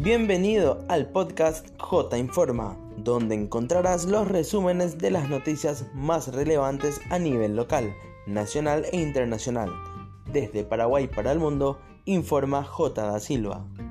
Bienvenido al podcast J Informa, donde encontrarás los resúmenes de las noticias más relevantes a nivel local, nacional e internacional. Desde Paraguay para el mundo, informa J da Silva.